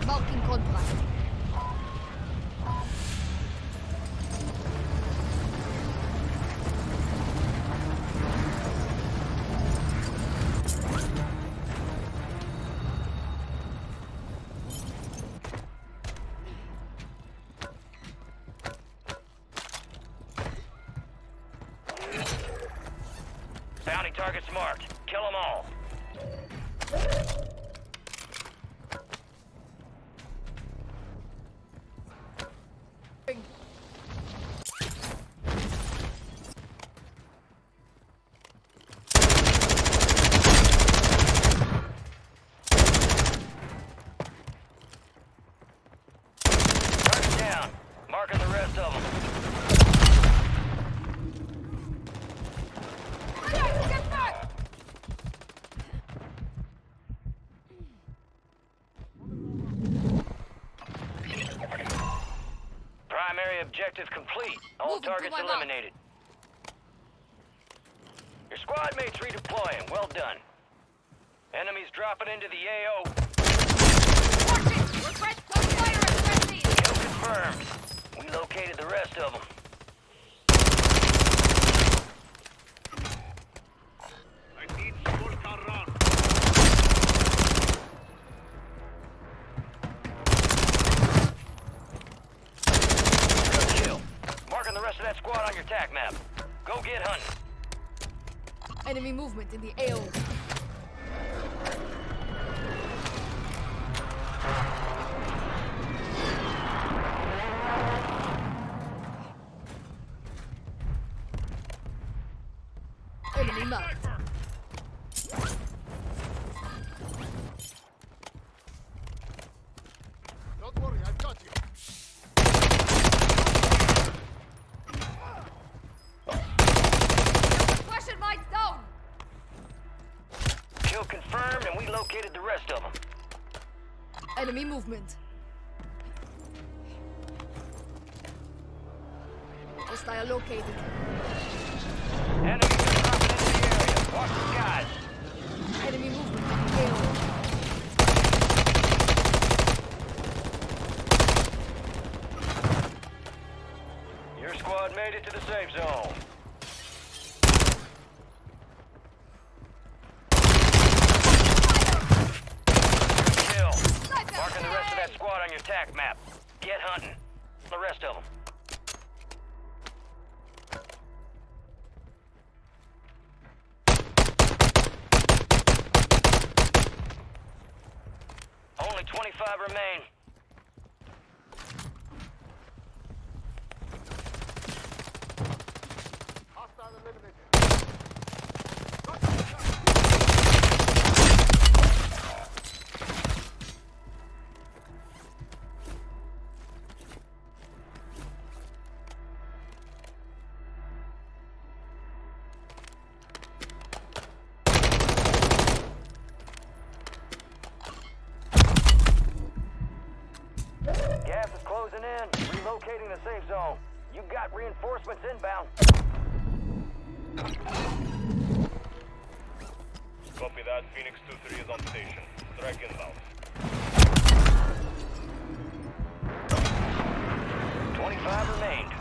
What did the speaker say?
Marking contract. Bounty targets marked. Kill them all. Target down. Marking the rest of them. Primary objective complete. All Moving to targets my mark. eliminated. Your squad mates redeploying. Well done. Enemies dropping into the AO. Request gunfire at friendly. Kill confirmed. We located the rest of them. I need Volta run. Good kill. Marking the rest of that squad on your tac map. Go get hunting. Enemy movement in the AO. Enemy marked. Don't worry, I've got you. Question mines down. Kill confirmed, and we located the rest of them. Enemy movement. Hostile located. Enemies are dropping into the area. Watch the skies. Enemy movement in the AO. Your squad made it to the safe zone. Kill. Marking the rest of that squad on your tac map. Get hunting. The rest of them. Only 25 remain. Hostile eliminated. Gas is closing in. Relocating the safe zone. You got reinforcements inbound. Copy that. Phoenix 2-3 is on station. Strike inbound. 25 remain.